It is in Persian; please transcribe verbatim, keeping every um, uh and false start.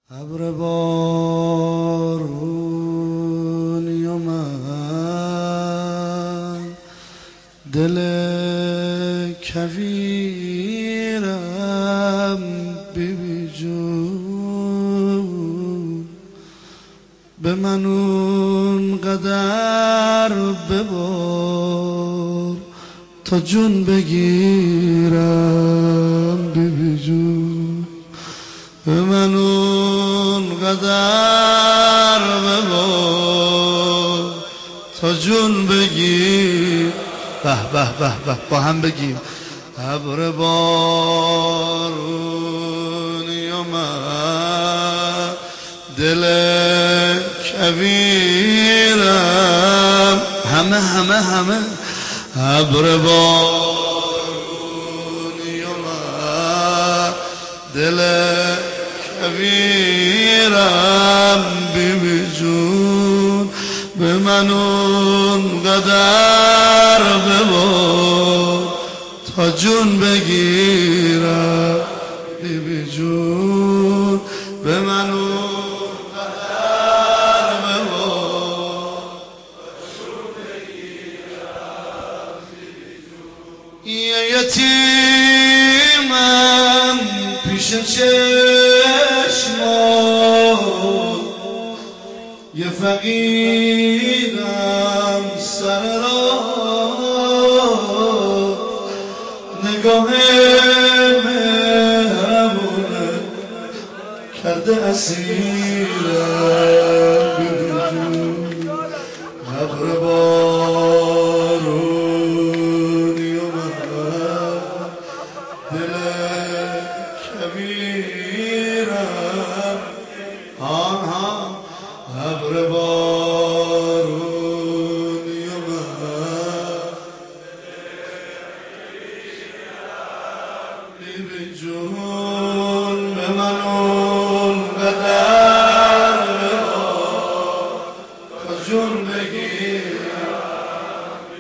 ابر بارونی من دل کویرم بی جون به من اون قدر ببار تا جون بگیرم بی جون به من اون قدر ببار تا جون بگیر. به به به به با هم بگیم ابر بارونی من دل کویرم همه همه همه ابر بارونی من دل کویرم بی جون به من اون قدر ببار تا جون بگیرم بی جون به من اون قدر ببار تا جون بگیرم بی جون. یه یتیمم پیش چشمات یه فقیرم سر راه نگاه مهربونه کرده اسیرم بی جون ابر بارونی من دل کویرم آنها ابر بارونی من بی جون به من